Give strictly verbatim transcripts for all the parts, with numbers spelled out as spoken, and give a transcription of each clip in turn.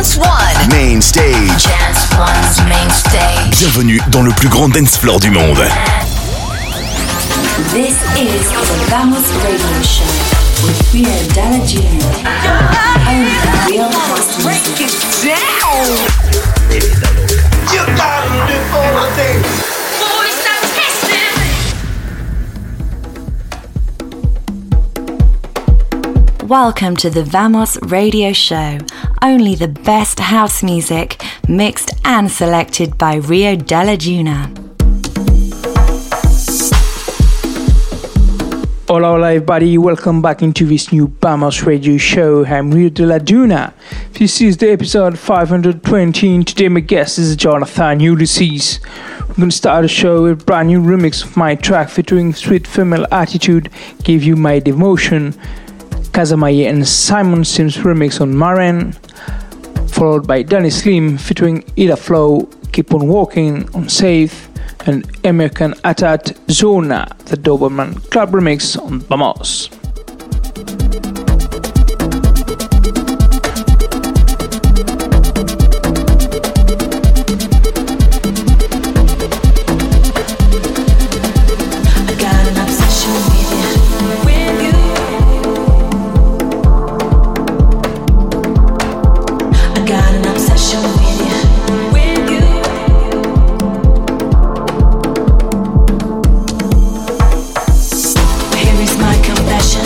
Dance One. Main Stage. Dance One's Main Stage. Bienvenue dans le plus grand dance floor du monde. This is the Vamos Radio Show with Rio Dalla Junior. Only real house music. Break it down. You gotta do all the things. Boys, stop testing. Welcome to the Vamos Radio Show. Only the best house music, mixed and selected by Rio Dalla Junior. Hola, hola everybody, welcome back into this new Vamos Radio Show. I'm Rio de la Duna. This is the episode five hundred twenty and today my guest is Jonathan Ulysses. We're going to start the show with a brand new remix of my track featuring Sweet Female Attitude, Give You My Devotion, Kazamaye and Simon Sims remix on Maren, followed by Danny Slim featuring Ida Flow, Keep On Walking on Safe, and American Atat Zona, the Doberman Club remix on Vamos. Here is my confession.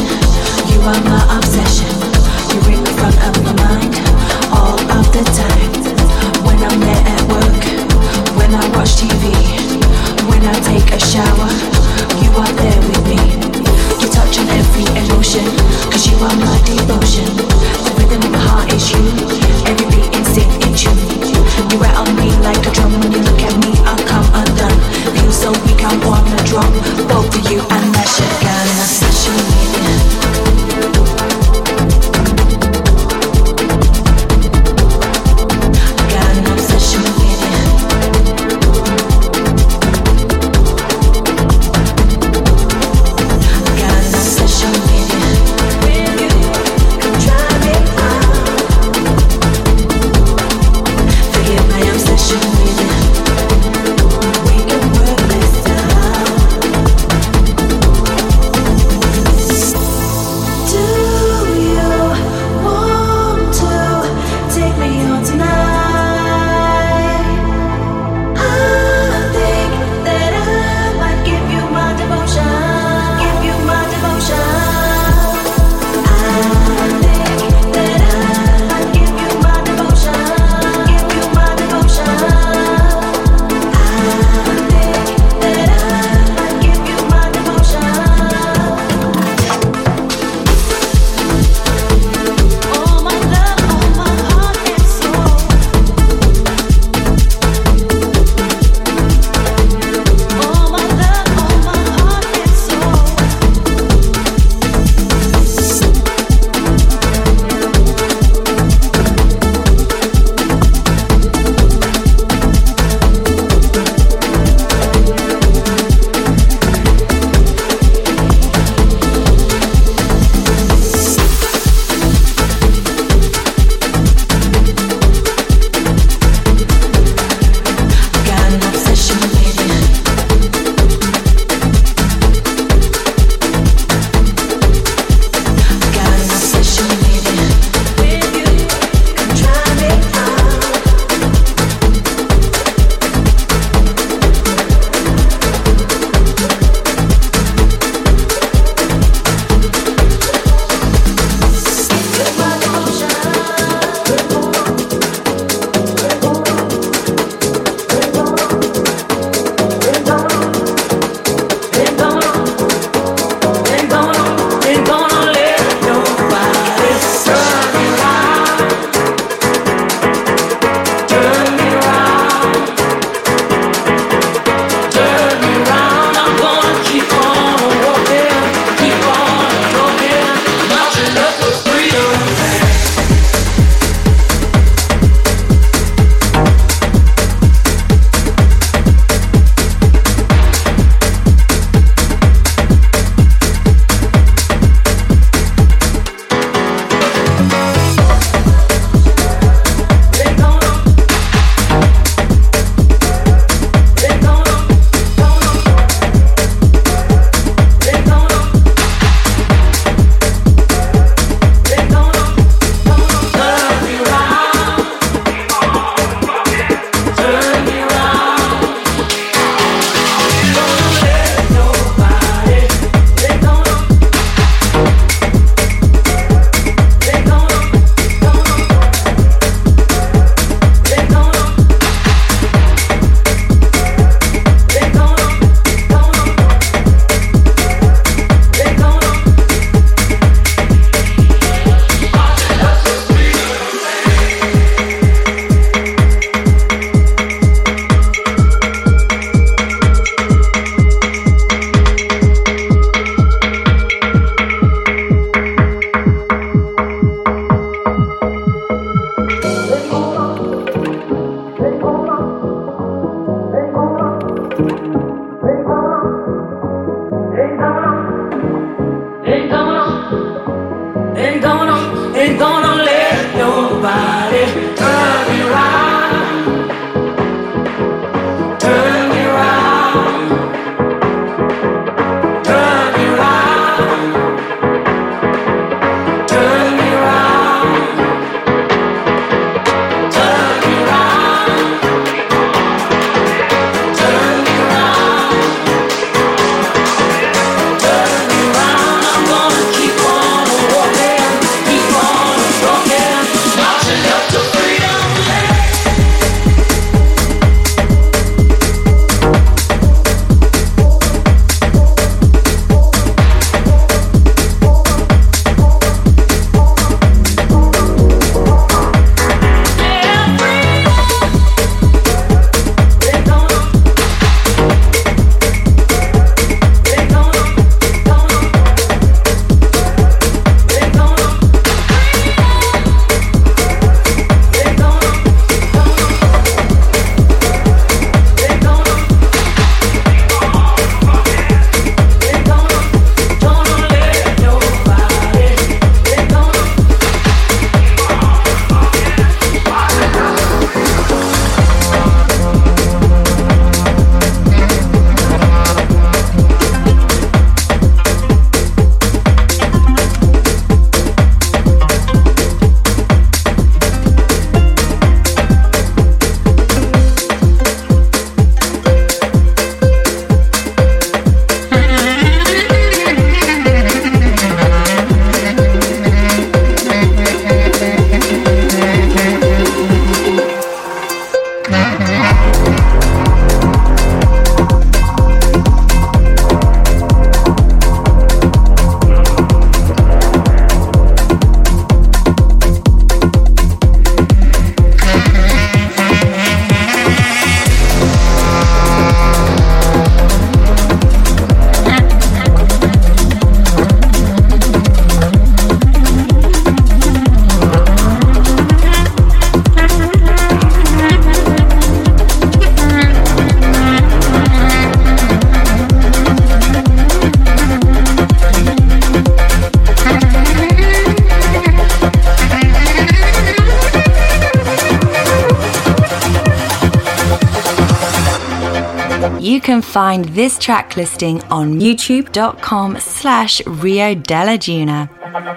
You can find this track listing on youtube.com slash Rio della Duna.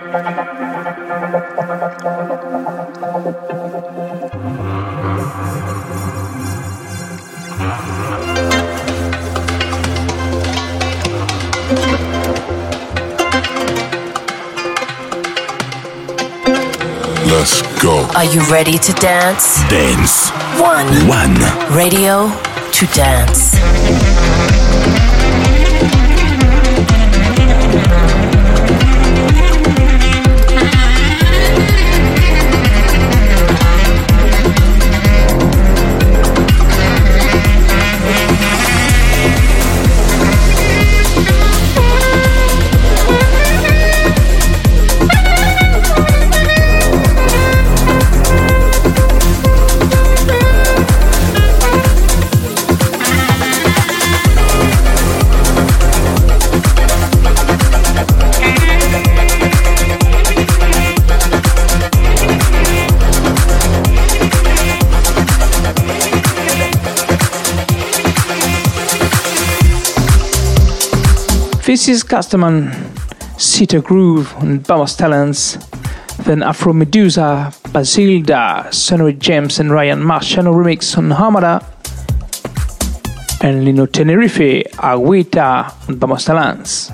Let's go. Are you ready to dance? Dance. One. One. Radio to dance. This is Castaman, Sita Groove on Bombas Talents, then Afro Medusa, Basilda, Sonny James and Ryan Marciano remix on Hamada, and Lino Tenerife, Agüita on Bombas Talents.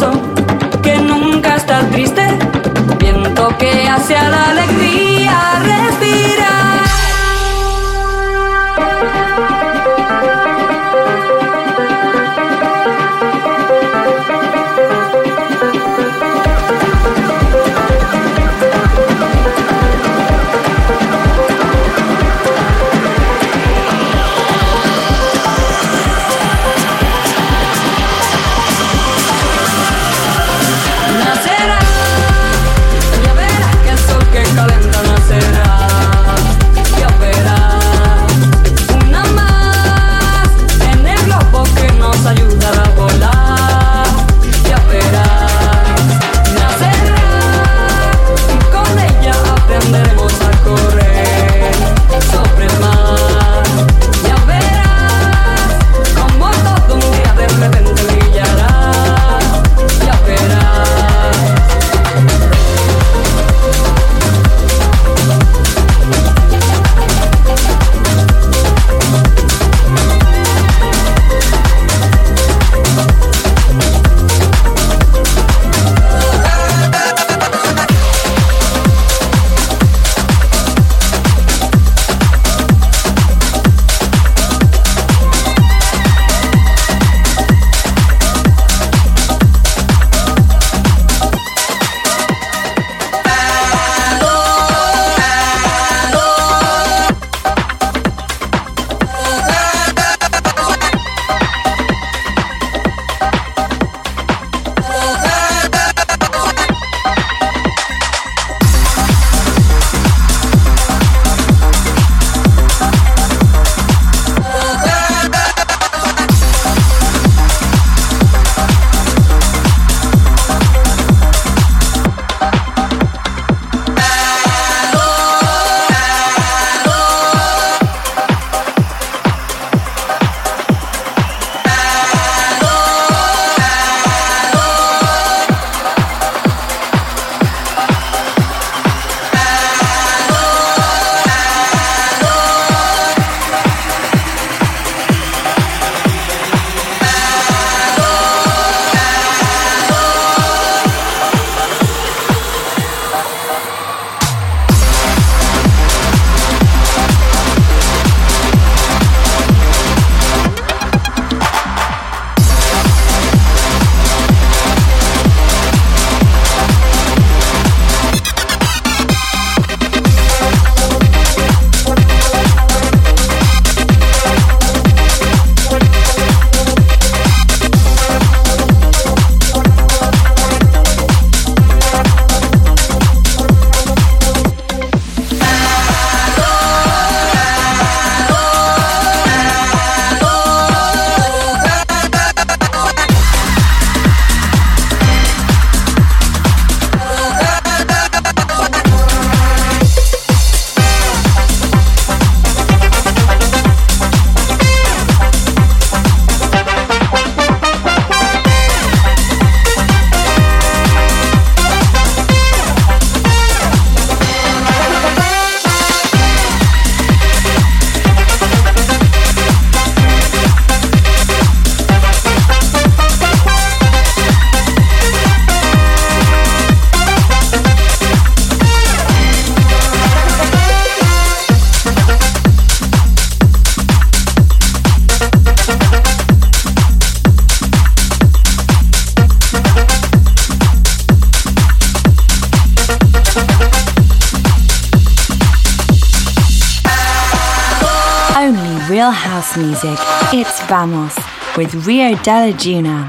gozo, que nunca está triste, viento que hacia la alegría respira. Real house music. It's Vamos with Rio de la Duna.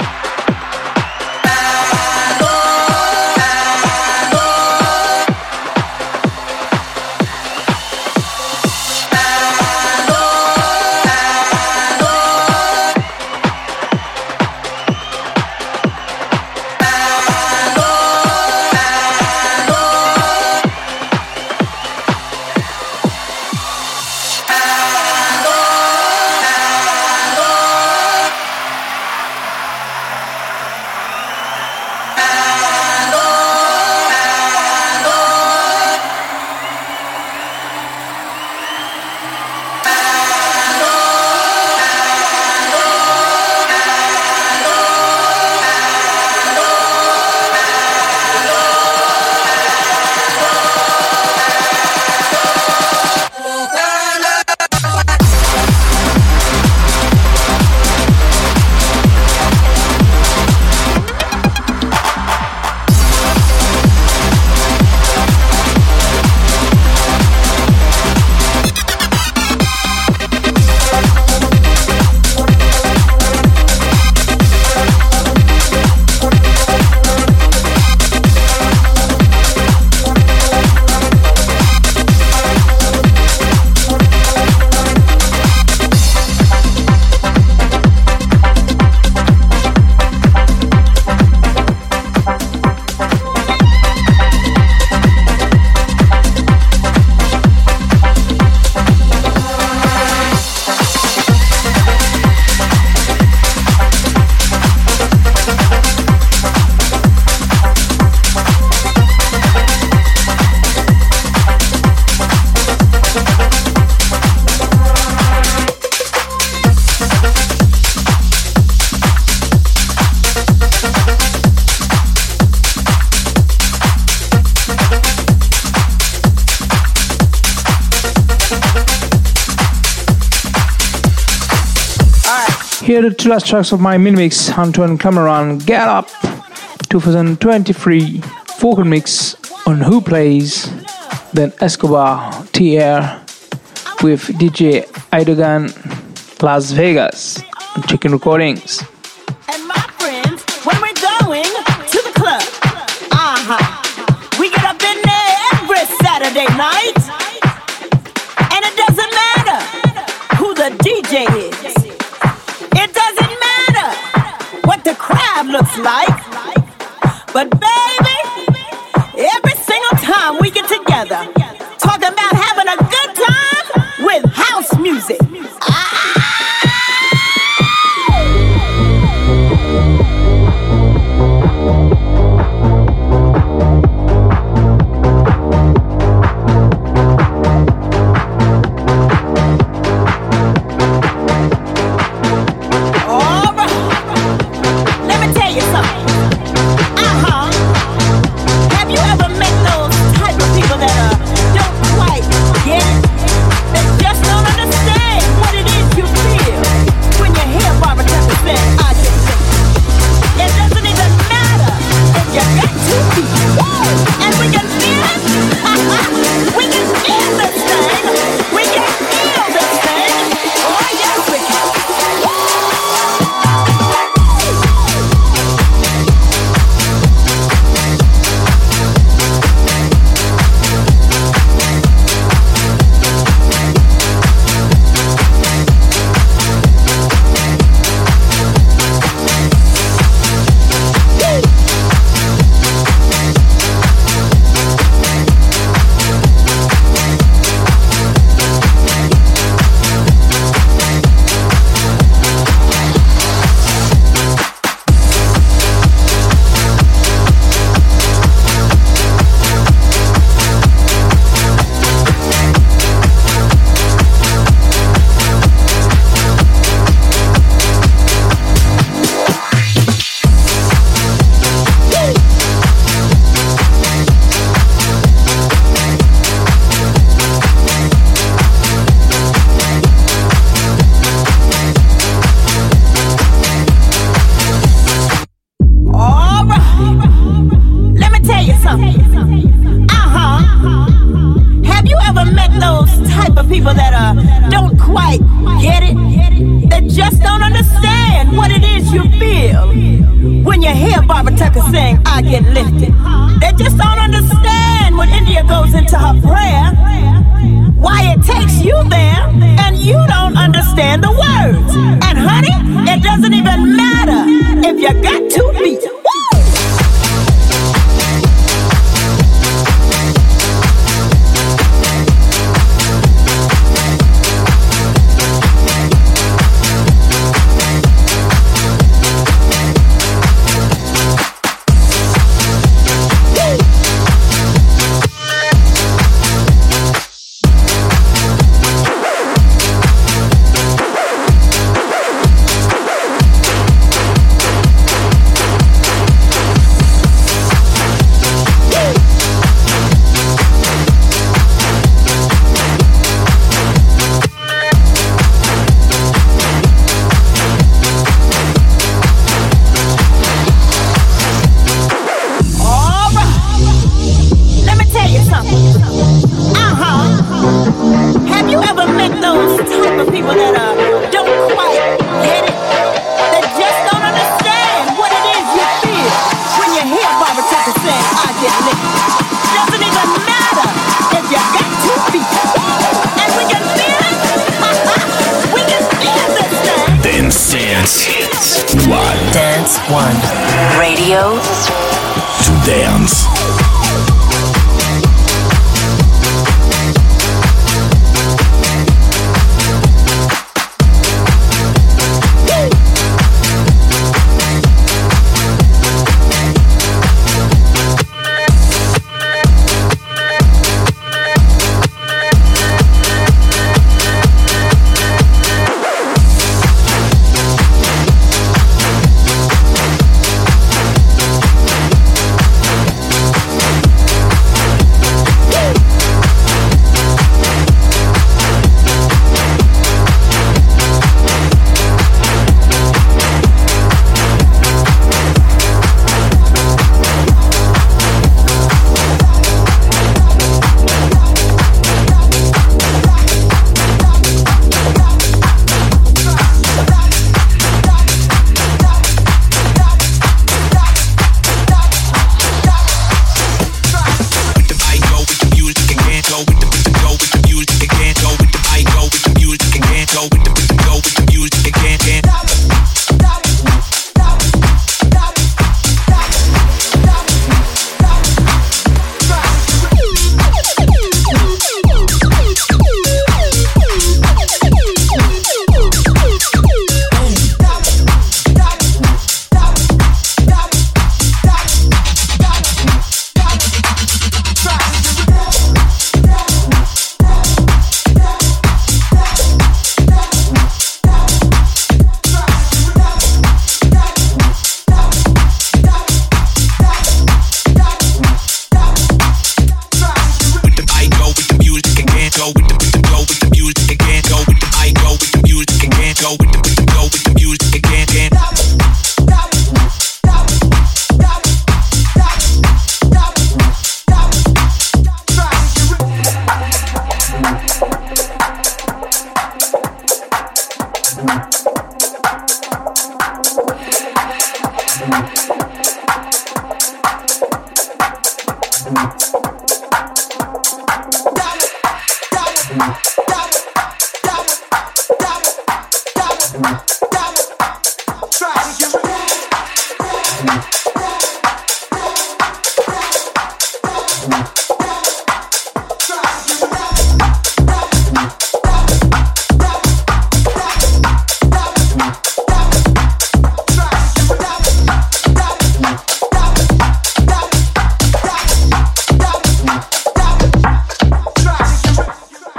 Here are the two last tracks of my mini mix. Antoine Clamaran, Get Up, twenty twenty-three vocal mix on Who Plays. Then Escobar, T R with D J Idogan, Las Vegas, on Chicken Recordings. And my friends, when we're going to the club, uh-huh, we get up in there every Saturday night, and it doesn't matter who the D J is. It doesn't matter what the crowd looks like. But baby, every single time we get together, talking about having a good time with house music. Ah!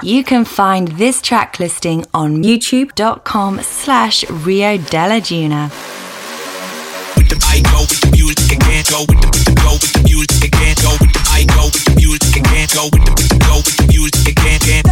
You can find this track listing on youtube.com slash Rio della Duna. With the I go with the music and can't go with the with the go with the music and can't go with the I go with the music and can't go with the with the go with the music and can't can't.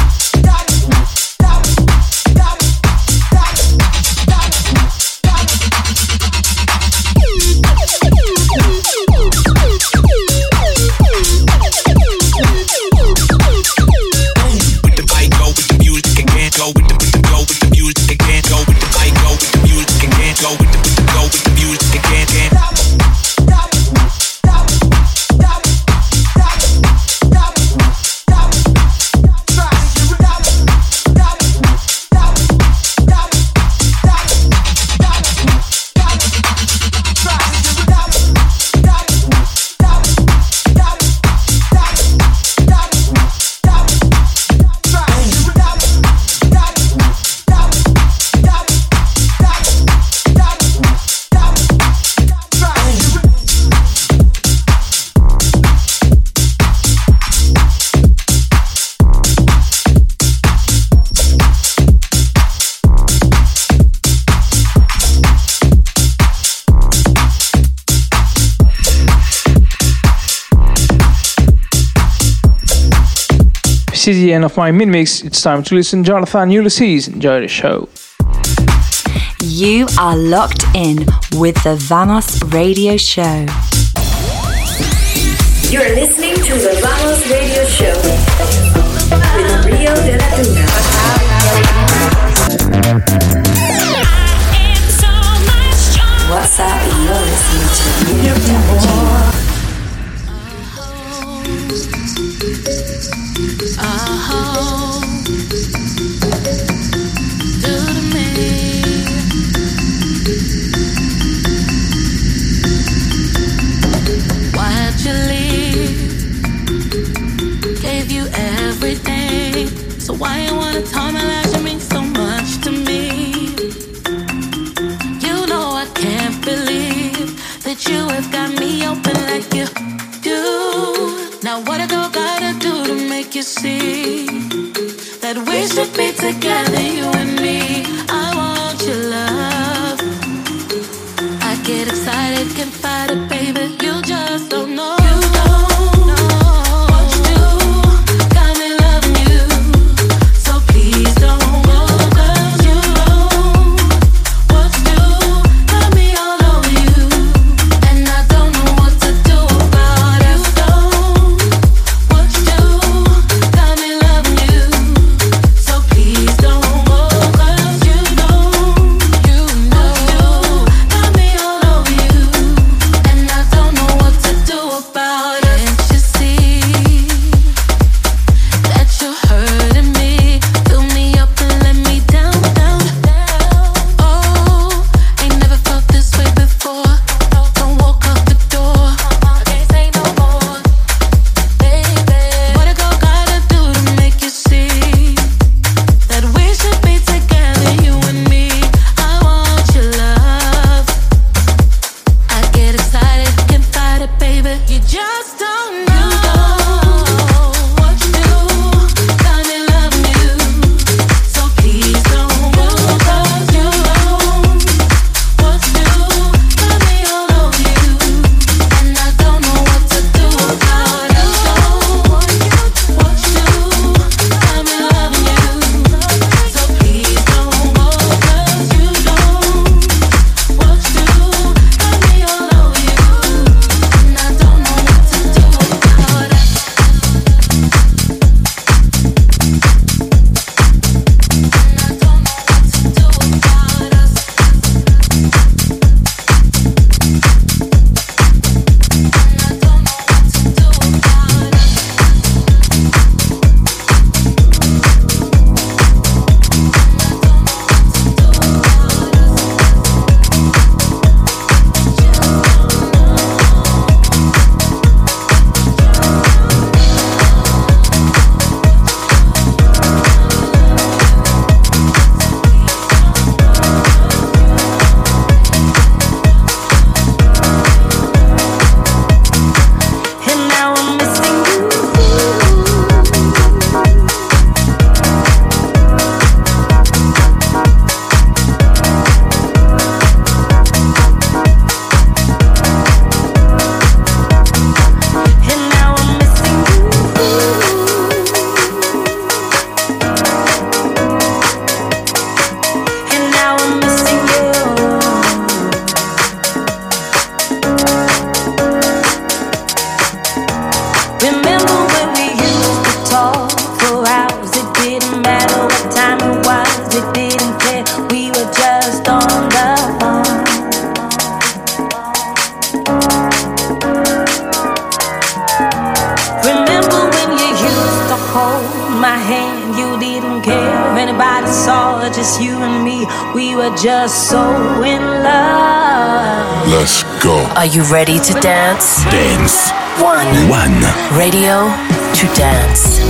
This is the end of my mini-mix. It's time to listen to Jonathan Ulysses. Enjoy the show. You are locked in with the Vamos Radio Show. You're listening to the Vamos Radio Show with Rio de la Duna. What's up? You're listening to Rio de la Duna. Oh, do to me. Why'd you leave? Gave you everything. So why you wanna tell me like you mean so much to me? You know I can't believe that you have got me open like you do. Now what a girl gotta do to make you see that we should be together, you and me. I want your love. I get excited, can't fight it, baby. You just don't know. You don't know what you do. Got me loving you, so please don't go. 'Cause you know what you do. Got me all over you, and I don't know what to do about it. You don't what you do. Got me loving you, so please don't go. just you and me. We were just so in love. Let's go. Are you ready to dance? Dance. One. One. Radio to dance.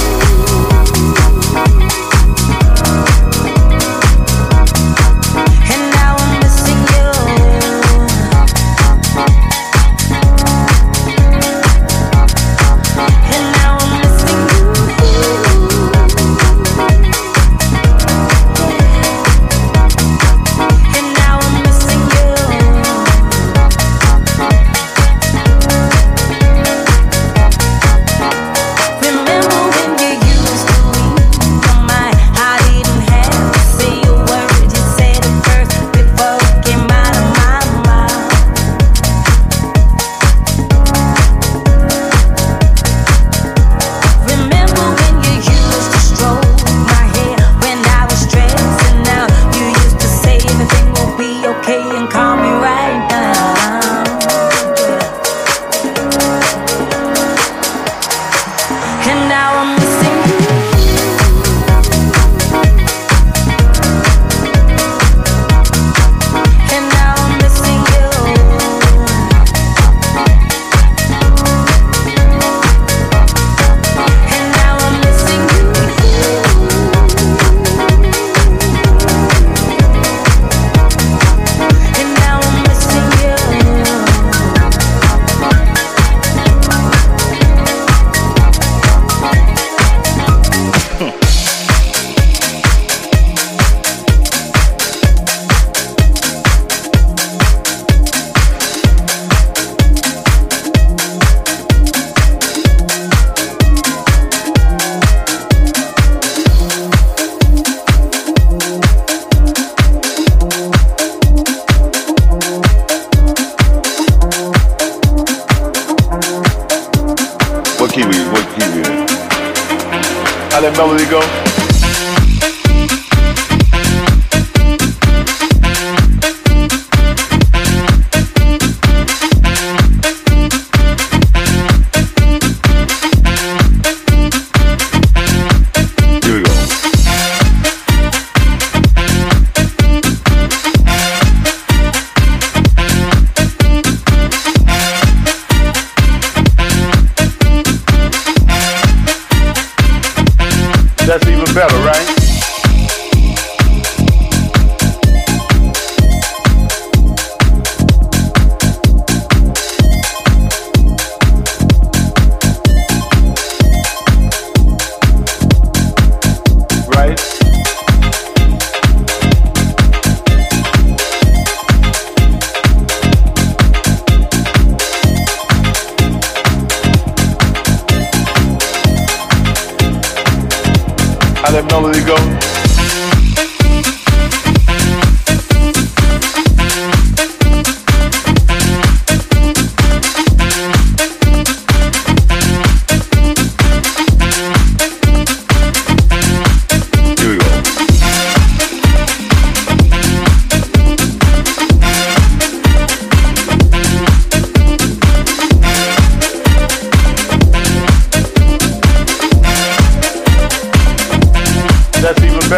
Melody go? That's even better, right? Right? How that melody go? Here we go. That's even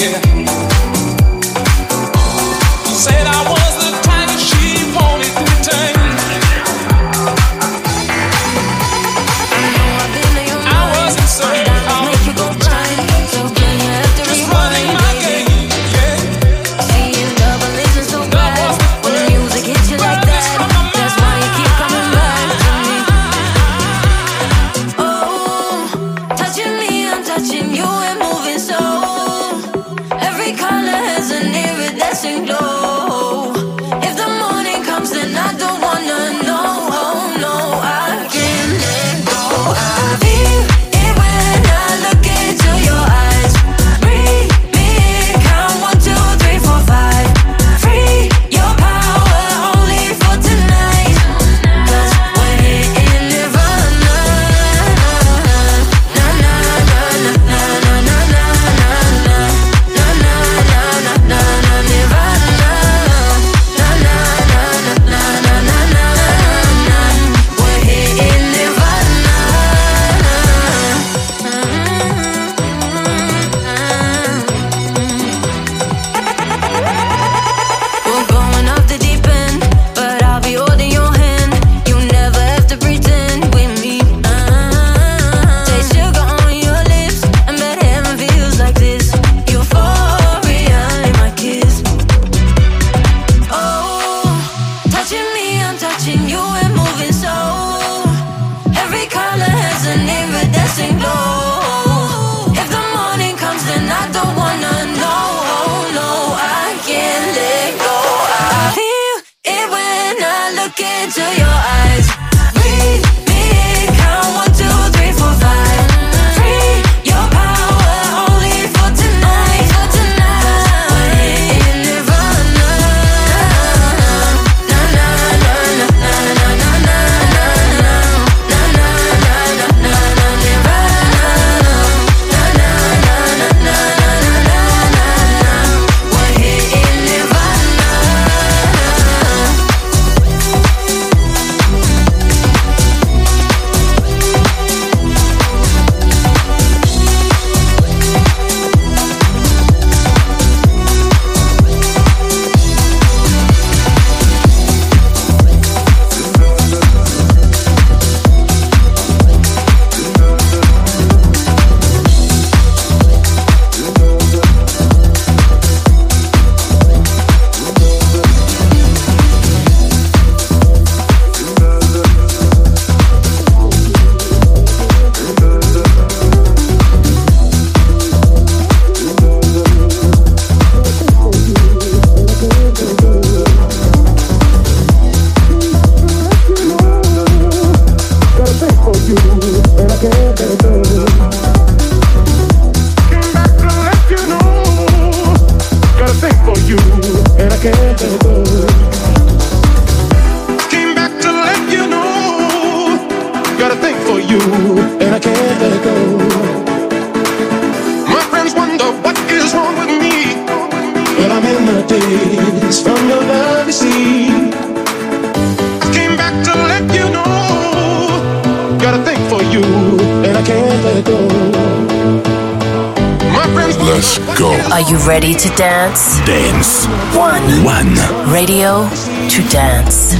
Ready to dance? Dance. One. One. Radio to dance.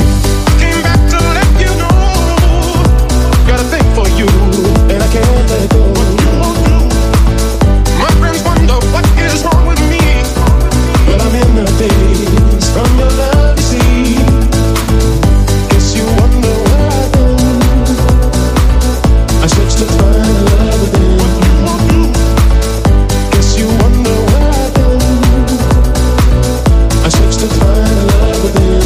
Came back to let you know. Got a thing for you, and I can't let go. My friends wonder what is wrong with me. Well, I'm in the days from your love, you see. Guess you wonder where I've been. I searched to find love within. Guess you wonder where I've been. I searched to find love within.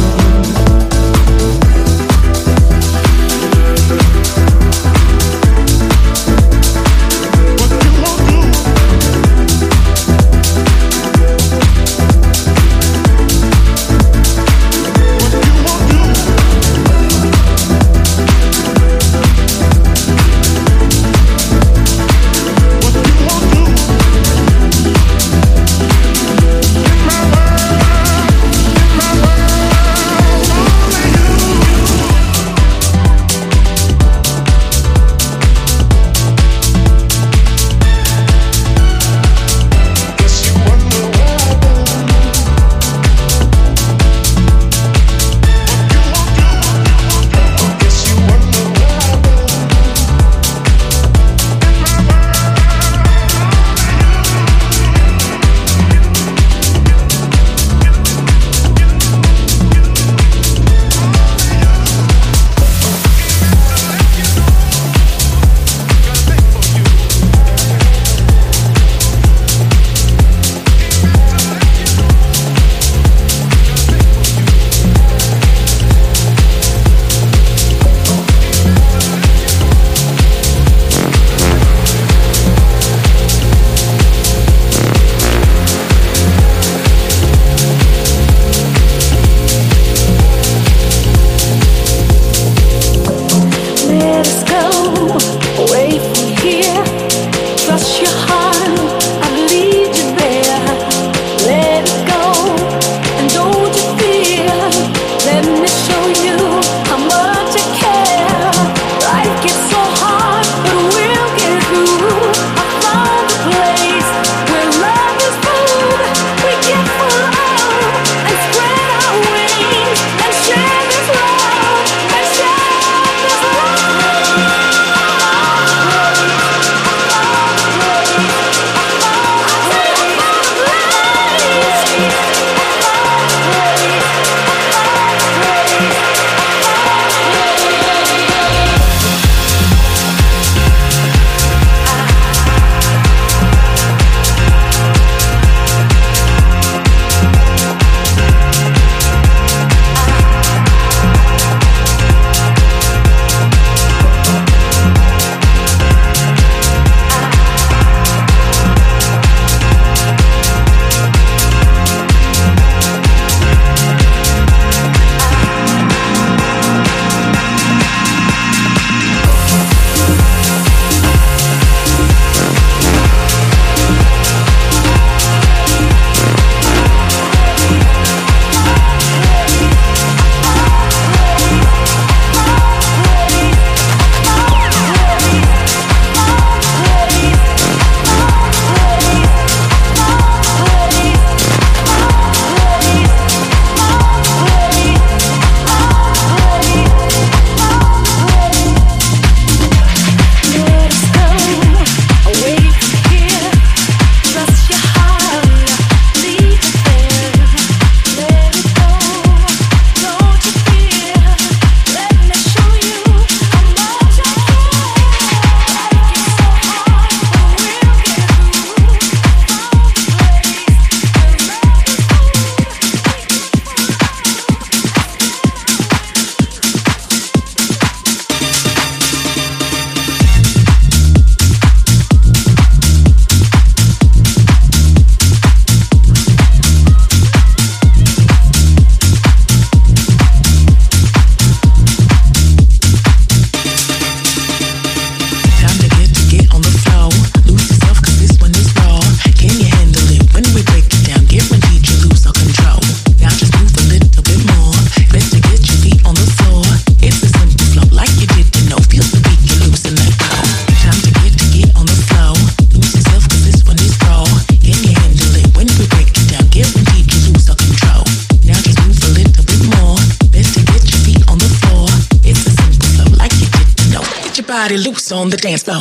body loose on the dance floor.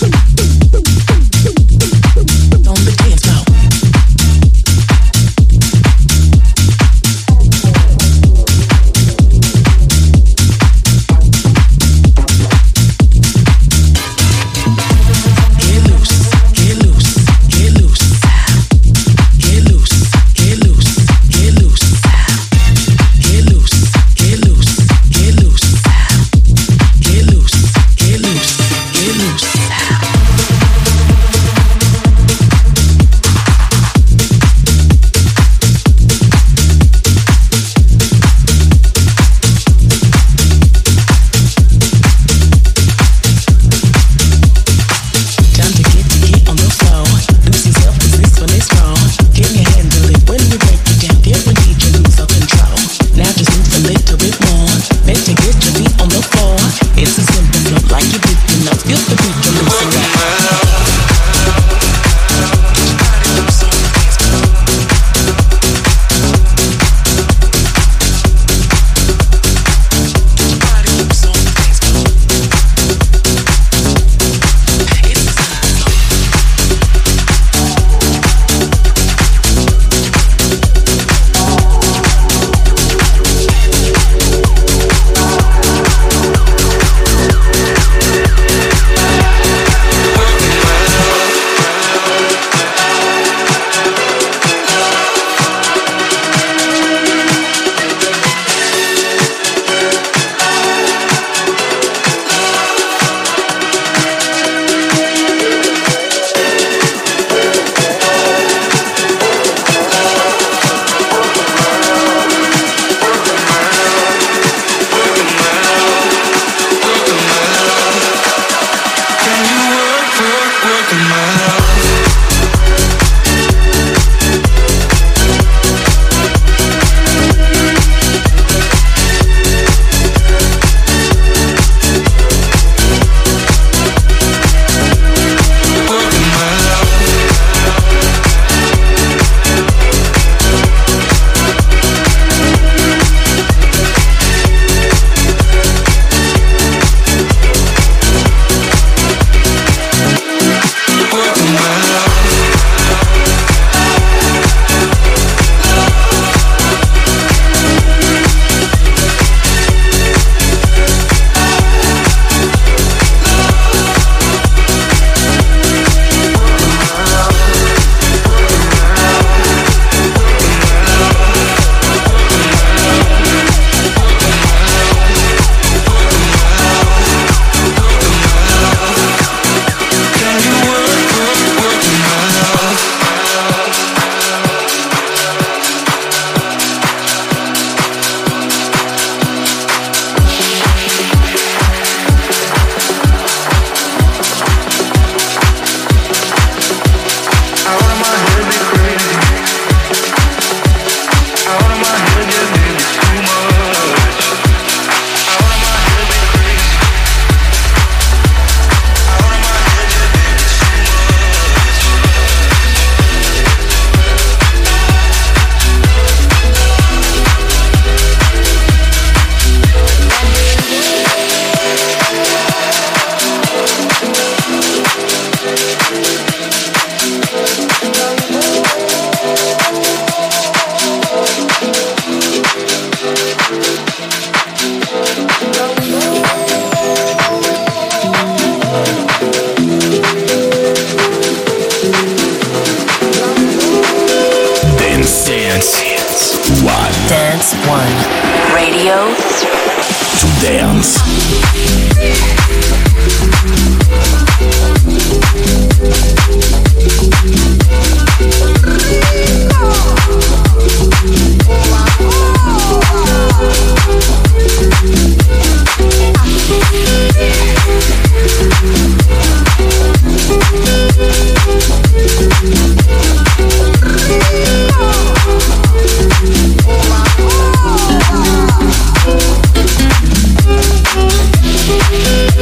On the dance floor. Dance One. Radio to dance. Oh,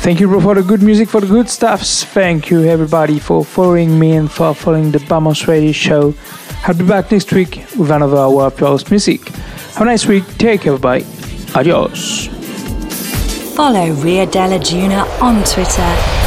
Thank you for the good music, for the good stuffs. Thank you everybody for following me and for following the Vamos Radio Show. I'll be back next week with another hour of house music. Have a nice week. Take care, everybody. Adios. Follow Rio Della Juna on Twitter